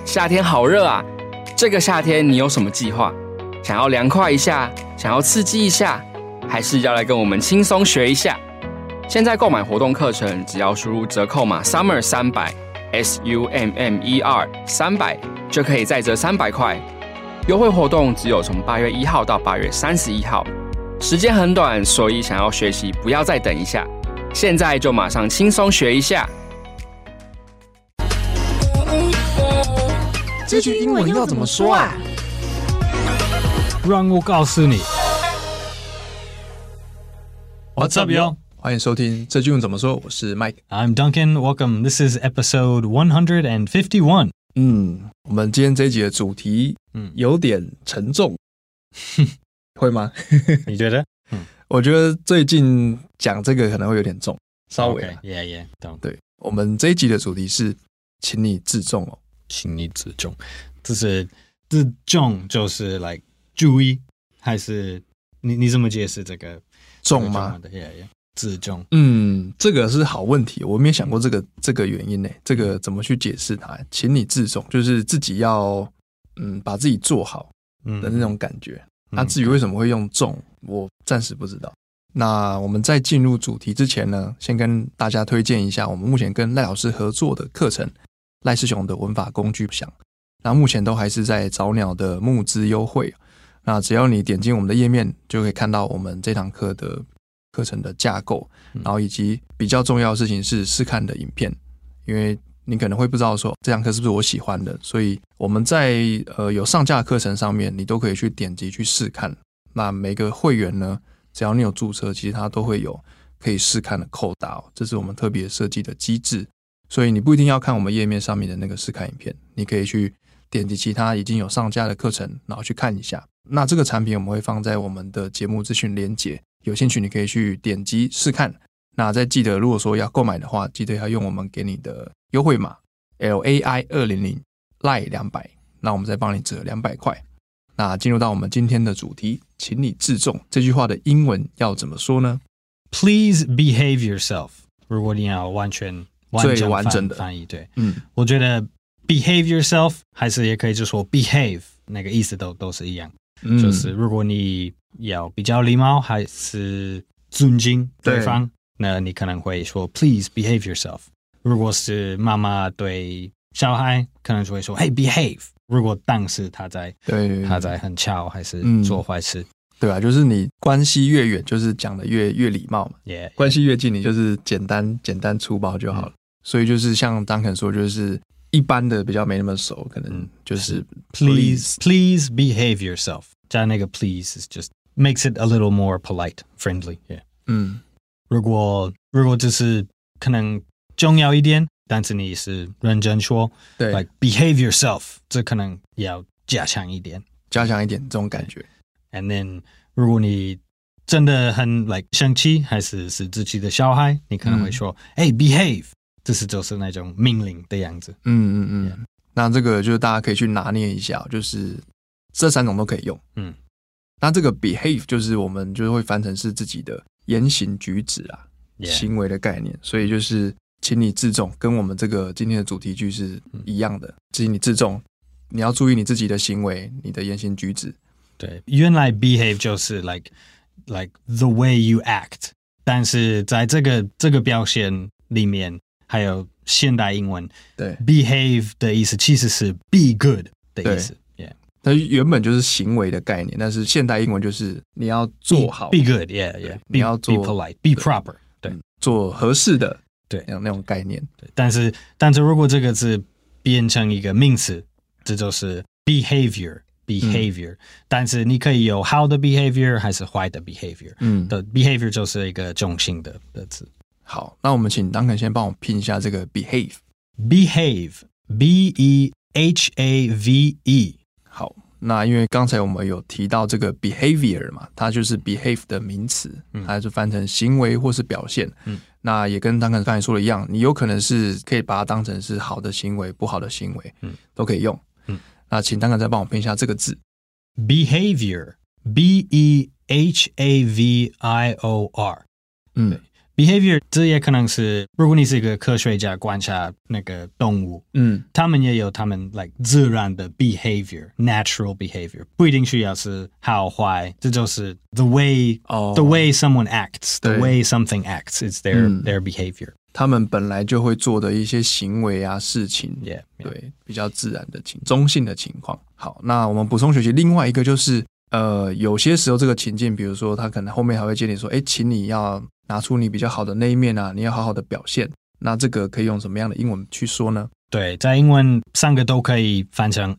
夏天好熱啊！這個夏天你有什麼計劃？想要涼快一下，想要刺激一下，還是要來跟我們輕鬆學一下？現在購買活動課程，只要輸入折扣碼 Summer 300 SUMMER 300，就可以再折300塊。優惠活動只有從8月1號到8月31號，時間很短，所以想要學習不要再等一下，現在就馬上輕鬆學一下。 這句英文要怎麼說啊？ 讓我告訴你。What's up, yo? 歡迎收聽這句英文怎麼說，我是 Mike。 I'm Duncan. Welcome. This is episode 151. 我們今天這一集的主題有點沉重，會嗎？ 你覺得？ 我覺得最近講這個可能會有點重，稍微。 Yeah, 對，我們這一集的主題是，請你自重哦。 請你自重，就是自重就是 like 注意，還是你怎麼解釋這個重嗎？ 自重， 這個是好問題，我沒有想過這個原因呢。這個怎麼去解釋它？請你自重，就是自己要把自己做好的那種感覺。那至於為什麼會用重，我暫時不知道。那我們在進入主題之前呢，先跟大家推薦一下我們目前跟賴老師合作的課程。賴世雄的文法工具箱，那目前都還是在早鳥的募資優惠。那只要你點進我們的頁面，就可以看到我們這堂課的課程的架構，然後以及比較重要的事情是試看的影片，因為你可能會不知道說這堂課是不是我喜歡的，所以我們在有上架的課程上面，你都可以去點擊去試看。那每個會員呢，只要你有註冊，其實它都會有可以試看的扣打，這是我們特別設計的機制。所以你不一定要看我們頁面上面的那個試看影片，你可以去點擊其他已經有上架的課程，然後去看一下。那這個產品我們會放在我們的節目資訊連結，有興趣你可以去點擊試看。那再記得，如果說要購買的話，記得要用我們給你的優惠碼 LAI200 LAI 200，那我們再幫你折200塊。那進入到我們今天的主題，請你自重，這句話的英文要怎麼說呢？ Please behave yourself。如果你要最完整的翻譯，對，我覺得 behave yourself 還是也可以就說 behave， 那個意思都是一樣，就是如果你要比較禮貌還是尊敬對方，那你可能會說 please behave yourself。如果是媽媽對小孩，可能就會說 hey behave。如果當時他在很吵還是做壞事。 對吧？就是你關係越遠，就是講的越禮貌嘛。關係越近，你就是簡單粗暴就好了。所以就是像Duncan說，就是一般的比較沒那麼熟，可能就是 please behave yourself。加那個 please is just makes it a little more polite, friendly. Yeah. 如果就是可能重要一點，但是你是認真說，對 ，like behave yourself， 這可能要加強一點這種感覺。 And then， 如果你真的很 like 生氣，還是自己的小孩，你可能會說，hey behave， 這是就是那種命令的樣子。 Yeah. 那這個就是大家可以去拿捏一下，就是這3種都可以用。那這個 behave 就是我們就會翻成是自己的言行舉止啊，行為的概念。所以就是請你自重，跟我們這個今天的主題句是一樣的。請你自重，你要注意你自己的行為，你的言行舉止。 對，原來 behave 就是 like the way you act， 但是在這個表現裡面，還有現代英文，對 behave 的意思其實是 be good 的意思。 它原本就是行為的概念，但是現代英文就是你要做好 be good， 你要做 be polite，be proper， 对， 做合適的， 对， 那種概念。 对，但是如果這個字變成一個名詞，這就是 behavior。但是你可以有好的 behavior 還是壞的 behavior， 的 behavior 就是一個中性的詞。 好，那我們請 Duncan 先幫我拼一下這個 behave B-E-H-A-V-E。 好，那因為剛才我們有提到這個 behavior 嘛，它就是 behave 的名詞，它就翻成行為或是表現。那也跟Duncan剛才說的一樣，你有可能是可以把它當成是好的行為、不好的行為，都可以用。那請Duncan再幫我拼一下這個字 ，behavior，B-E-H-A-V-I-O-R。 behavior 這也可能是，如果你是一個科學家觀察那個動物，他們也有他們 like 自然的 behavior，natural behavior， 不一定需要是好壞，這就是 the way someone acts，the way something acts is their behavior。 他們本來就會做的一些行為啊、事情，對，比較自然的中性的情況。好，那我們補充學習另外一個就是有些時候這個情境，比如說他可能後面還會建議說，請你要拿出你比較好的那一面啊，你要好好的表現。那這個可以用什麼樣的英文去說呢？ 對，在英文三個都可以翻成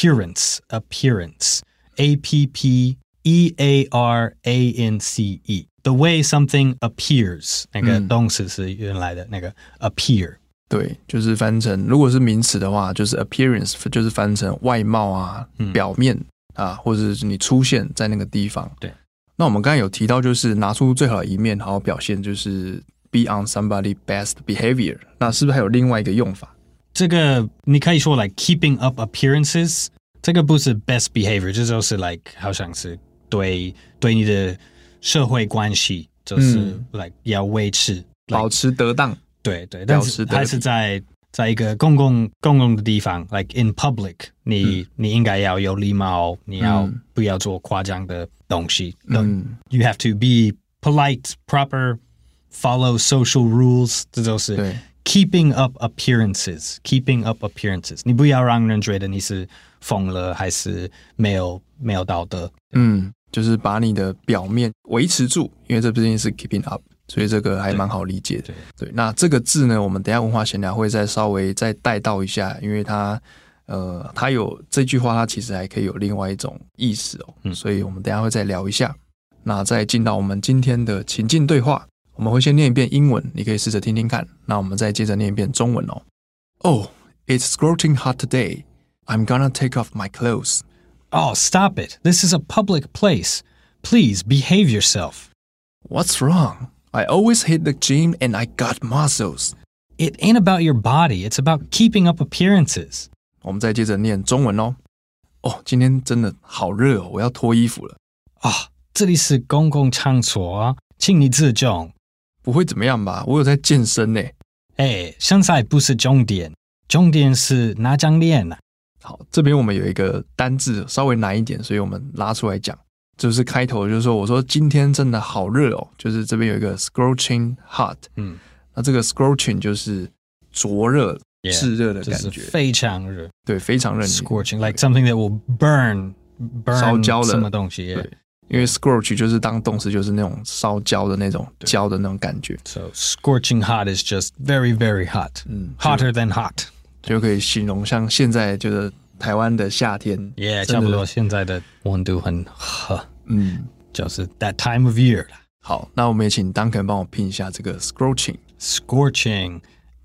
appearance。The way something appears， 那個動詞是原來的那個 appear。 對，就是翻成，如果是名詞的話，就是 appearance， 就是翻成外貌啊、表面啊，或者是你出現在那個地方。 對。 那我們剛才有提到，就是拿出最好的一面，好好表現，就是 be on somebody's best behavior。那是不是還有另外一個用法？ 這個你可以說 like keeping up appearances， 這個不是 best behavior， 這就是 like 好像是對你的社會關係就是 like 要維持保持得當， 對，但是還是在一個公共的地方 like in public， 你應該要有禮貌，你要不要做誇張的東西，you have to be polite, proper, follow social rules， 這就是 keeping up appearances， 你不要讓人覺得你是瘋了還是沒有道德， 就是把你的表面維持住，因為這畢竟是 keeping up， 所以這個還蠻好理解的。對，那這個字呢，我們等一下文化閒聊會再稍微再帶到一下，因為它有這句話，它其實還可以有另外一種意思哦。所以我們等一下會再聊一下。那再進到我們今天的情境對話，我們會先念一遍英文，你可以試着聽聽看。那我們再接着念一遍中文哦。Oh, it's scorching hot today. I'm gonna take off my clothes.Oh, stop it. This is a public place. Please behave yourself. What's wrong? I always hit the gym and I got muscles. It ain't about your body. It's about keeping up appearances. 我们再接着念中文哦。今天真的好熱哦，我要脫衣服了。 這裡是公共場所啊，請你自重。 不會怎麼樣吧？我有在健身呢。 現在不是重點，重點是哪張臉啊？ 好，這邊我們有一個單字稍微難一點，所以我們拉出來講，就是開頭就是說，我說今天真的好熱哦，就是這邊有一個 scorching hot，那這個 scorching 就是灼熱、炙熱的感覺， 就是非常熱， 對，非常熱 ，scorching like something that will burn 燒焦的什麼東西， 對，因為 scorch 就是當動詞，就是那種燒焦的那種焦的那種感覺 ，so scorching hot is just very very hot，hotter than hot。 就可以形容像現在就是台灣的夏天， 差不多現在的溫度很熱，就是 that time of year 啦。 好，那我們也請 Duncan 幫我拼一下這個 scorching，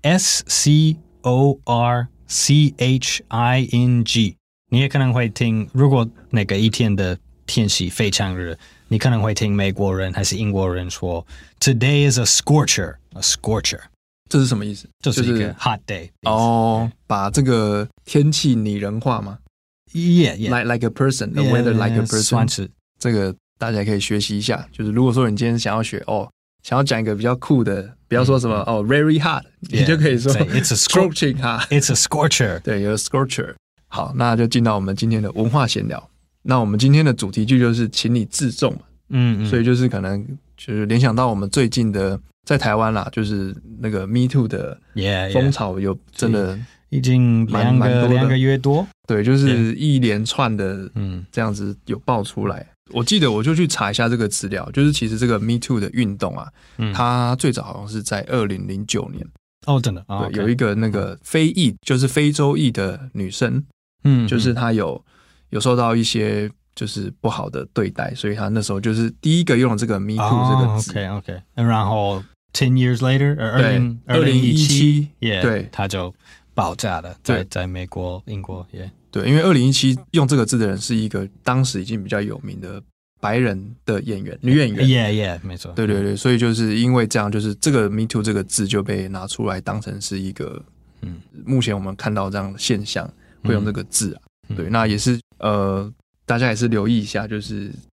S-C-O-R-C-H-I-N-G。你也可能會聽，如果那個一天的天氣非常熱，你可能會聽美國人還是英國人說 Today is a scorcher。這是什麼意思？就是一個 hot day。把這個天氣擬人化嗎 ？Like a person, the weather like a person。 算是這個大家可以學習一下。就是如果說你今天想要學想要講一個比較酷的，不要說什麼very hot， 你就可以說 It's a scorching hot。It's a scorcher。 對，有 scorcher。好，那就進到我們今天的文化閒聊。那我們今天的主題句就是請你自重嘛。所以就是可能就是聯想到我們最近的。在台灣啦，就是那個 Me Too 的風潮有真的已經兩個月多， 對，就是一連串的這樣子有爆出來。我記得我就去查一下這個資料，就是其實這個 Me Too 的運動啊，它最早好像是在2009年。 真的， 對，有一個那個非裔，就是非洲裔的女生，就是她有受到一些就是不好的對待，所以她那時候就是第一個用了這個 Me Too 這個字。 OK， 然後10 years later， 2017， 對，它就爆炸了，在美國、英國， 對，因為2017用這個字的人是一個當時已經比較有名的白人的演員，女演員， 沒錯， 對，所以就是因為這樣，就是這個 Me Too 這個字就被拿出來當成是一個，目前我們看到這樣的現象會用這個字啊，對，那也是大家也是留意一下，就是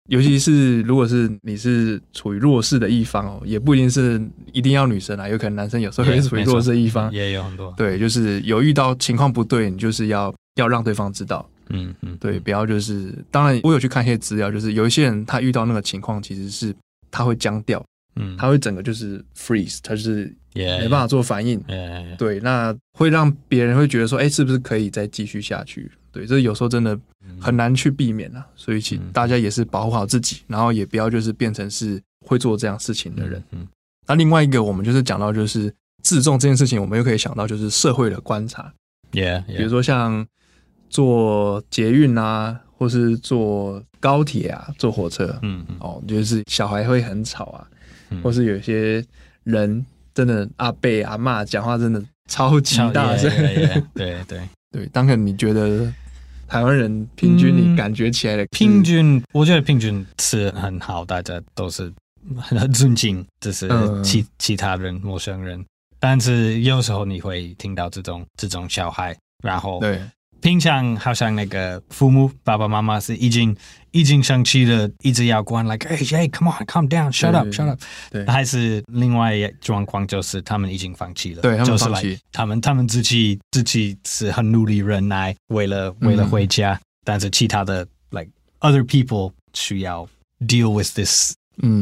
尤其是如果是你是處於弱勢的一方哦，也不一定是一定要女生啊，有可能男生有時候也是處於弱勢的一方， 也有很多。 对，就是有遇到情況不對，你就是要讓對方知道。对，不要就是当然我有去看一些資料，就是有一些人他遇到那個情況，其實是他會僵掉，他會整個就是 freeze， 他就是沒辦法做反應。對，那會讓別人會覺得說，是不是可以再繼續下去？對，這有時候真的很難去避免啊，所以請大家也是保護好自己，然后也不要就是變成是會做這樣事情的人。那另外一個我們就是講到就是自重這件事情，我們又可以想到就是社會的觀察，比如說像坐捷運啊，或是坐高鐵啊，坐火車，就是小孩會很吵啊，或是有些人真的阿伯阿嬤講話真的超級大聲，對，當然你覺得台灣人平均你感覺起來的平均，我覺得平均是很好，大家都是很尊敬，就是其他人陌生人，但是有時候你會聽到這種小孩，然後對。平常好像那個父母爸爸媽媽是已經生氣了，一直要關 like hey come on calm down shut up shut up， 對，還是另外一狀況就是他們已經放棄了， 對，他們放棄，就是他們自己是很努力忍耐，為了回家，但是其他的 like other people 需要 deal with this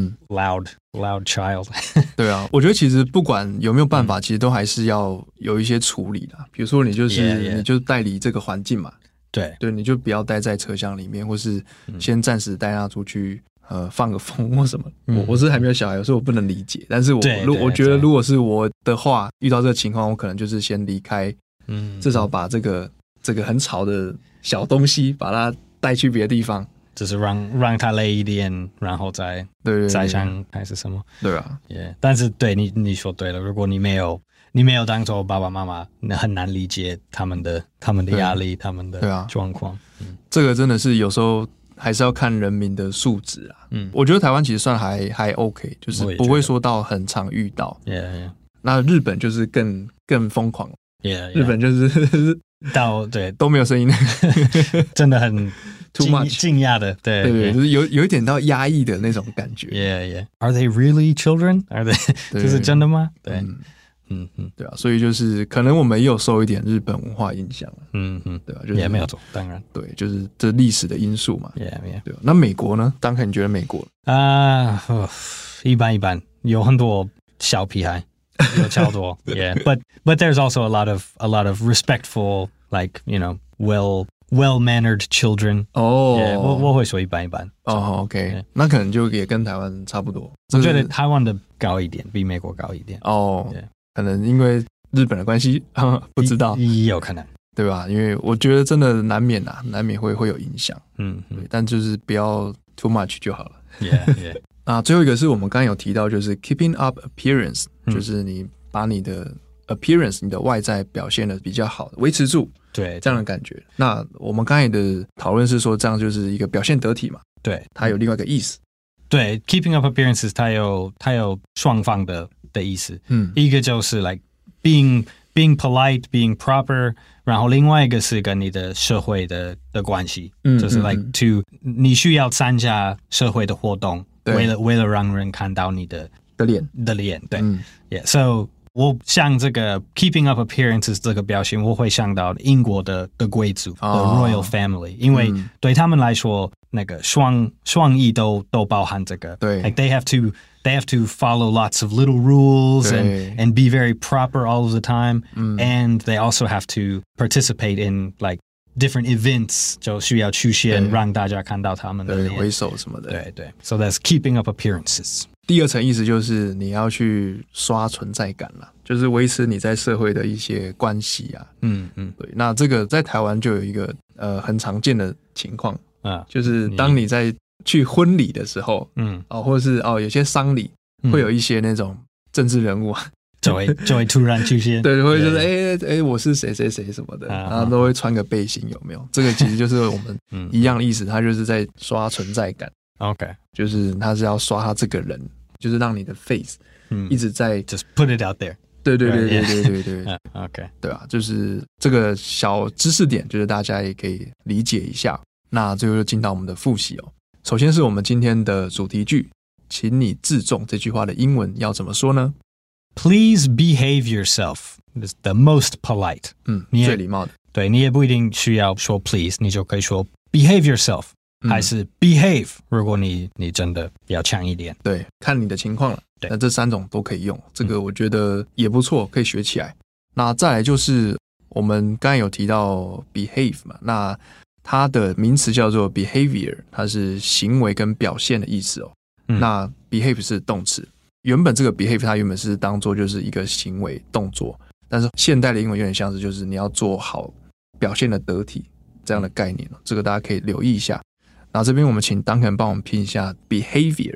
loud child 对啊，我覺得其實不管有沒有辦法，其實都還是要有一些處理的。比如說你就是你就帶離這個環境嘛，對，你就不要待在車廂裡面，或是先暫時帶他出去放個風或什麼。我是還沒有小孩，所以我不能理解。但是我覺得如果是我的話，遇到這個情況，我可能就是先離開，至少把這個很吵的小東西把它帶去別的地方。 就是讓他累一點，然後再想還是什麼？對啊，但是對你說對了，如果你沒有當做爸爸媽媽，那很難理解他們的壓力，他們的狀況。 這個真的是有時候還是要看人民的素質啊。我覺得台灣其實算還 OK， 就是不會說到很常遇到。那日本就是更瘋狂，日本就是對都沒有聲音， 真的很。 too much 驚訝的，對， 就是有一點到壓抑的那種感覺。 Are they really children? Are they？ 這是真的嗎？對， 對啊，所以就是可能我們也有受一點日本文化影響，對吧？ 也沒有錯，當然， 對，就是這歷史的因素嘛。對吧？那美國呢？當然你覺得美國一般，有很多小屁孩，有超多，but there's also a lot of respectful, like well-mannered children。我會說一般。 OK， 那可能就也跟台灣差不多。 我覺得台灣的高一點，比美國高一點。 可能因為日本的關係，不知道， 有可能， 對吧？因為我覺得真的難免會有影響。但就是不要 too much 就好了。那最後一個是我們剛剛有提到，就是 keeping up appearance，就是你把你的 appearance， 你的外在表現的比較好，維持住。对，這樣的感覺。那我們剛才的討論是說，這樣就是一個表現得體嘛？對，它有另外一個意思。 對 ，keeping up appearances， 它有雙方的意思。一個就是 like being polite, being proper， 然後另外一個是跟你的社會的關係，就是 like你需要參加社會的活動，為了讓人看到你的臉，對，so。我像這個 keeping up appearances 這個表現，我會想到英國的貴族的 royal family，因為對他們來說，那個雙翼都包含這個。對 ，like they have to follow lots of little rules and be very proper all of the time, and they also have to participate in like different events， 就需要出現讓大家看到他們的臉， 揮手什麼的。 對 ，so that's keeping up appearances。 第二層意思就是你要去刷存在感啦，就是維持你在社會的一些關係啊。對。那這個在台灣就有一個很常見的情況啊，就是當你在去婚禮的時候，或者是有些喪禮會有一些那種政治人物啊， 就會突然出現， 對，會就是我是誰誰誰什麼的，然後都會穿個背心，有沒有？這個其實就是我們一樣的意思，他就是在刷存在感。OK， 就是他是要刷他這個人，就是讓你的 face 一直在 just put it out there。 對 ，OK， 对啊，就是這個小知識點，就是大家也可以理解一下。那最後就進到我們的複習哦。 首先是我們今天的主題句，請你自重這句話的英文要怎麼說呢？ Please behave yourself. It's the most polite. 最禮貌的。 对，你也不一定需要說 please， 你就可以說 behave yourself，還是 behave， 如果你真的要強一點。 對，看你的情況了。那這3種都可以用，這個我覺得也不錯，可以學起來。那再來就是我們剛才有提到 behave 嘛，那它的名詞叫做 behavior， 它是行為跟表現的意思哦。那 behave 是動詞。原本這個 behave 它原本是當做就是一個行為動作，但是現代的英文有點像是就是你要做好表現的得體這樣的概念，這個大家可以留意一下。然後這邊我們請 Duncan 幫我們拼一下 behavior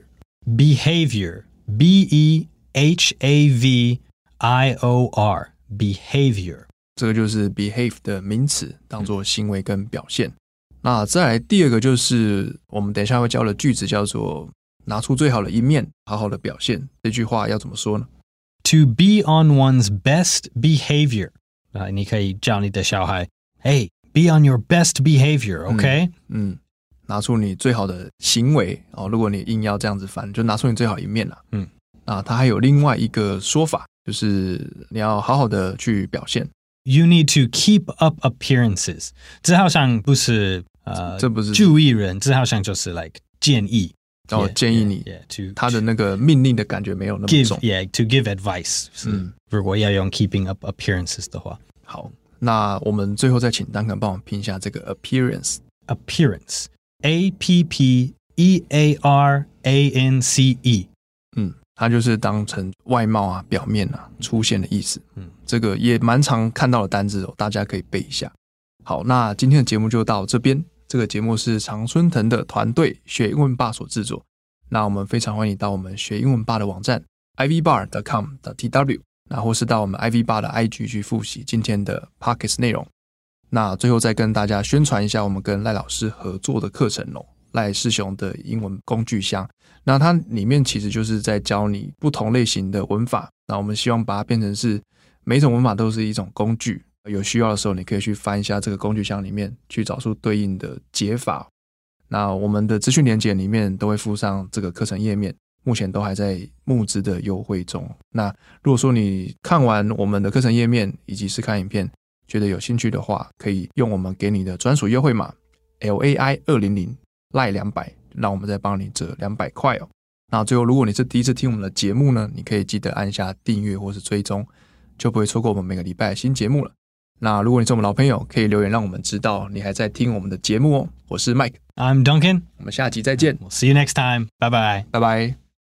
B-E-H-A-V-I-O-R behavior， 這個就是 behave 的名詞，當做行為跟表現。那再來第二個就是我們等一下會教的句子叫做拿出最好的一面，好好的表現。這句話要怎麼說呢？ To be on one's best behavior， 你可以叫你的小孩 Hey, be on your best behavior, OK？ 拿出你最好的行為哦。如果你硬要這樣子翻，就拿出你最好的一面啦。它還有另外一個說法，就是你要好好的去表現。 You need to keep up appearances。這好像不是这不是注意人，這好像就是 like 建議。 建議你，他的那個命令的感覺沒有那麼重。 to give advice。如果要用 keeping up appearances 的話， 好，那我們最後再請Duncan幫我拼一下這個 appearance。Appearance A-P-P-E-A-R-A-N-C-E。它就是當成外貌啊、表面啊出現的意思。這個也蠻常看到的單字哦，大家可以背一下。好，那今天的節目就到這邊。這個節目是常春藤的團隊學英文吧所製作。那我們非常歡迎到我們學英文吧的網站 ivbar.com.tw， 那或是到我們 ivbar 的 IG 去複習今天的 Podcast 內容。那最後再跟大家宣傳一下我們跟賴老師合作的課程哦，賴世雄的英文工具箱。那它裡面其實就是在教你不同類型的文法，那我們希望把它變成是每一種文法都是一種工具，有需要的時候你可以去翻一下這個工具箱裡面去找出對應的解法。那我們的資訊連結裡面都會附上這個課程頁面，目前都還在募資的優惠中。那如果說你看完我們的課程頁面以及是看影片覺得有興趣的話，可以用我們給你的專屬優惠碼 LAI200 賴200，讓我們再幫你折200塊哦。那最後如果你是第一次聽我們的節目呢，你可以記得按下訂閱或是追蹤，就不會錯過我們每個禮拜的新節目了。那如果你是我們老朋友，可以留言讓我們知道你還在聽我們的節目哦。我是 Mike， I'm Duncan， 我們下集再見。 We'll see you next time， 拜拜， 拜拜。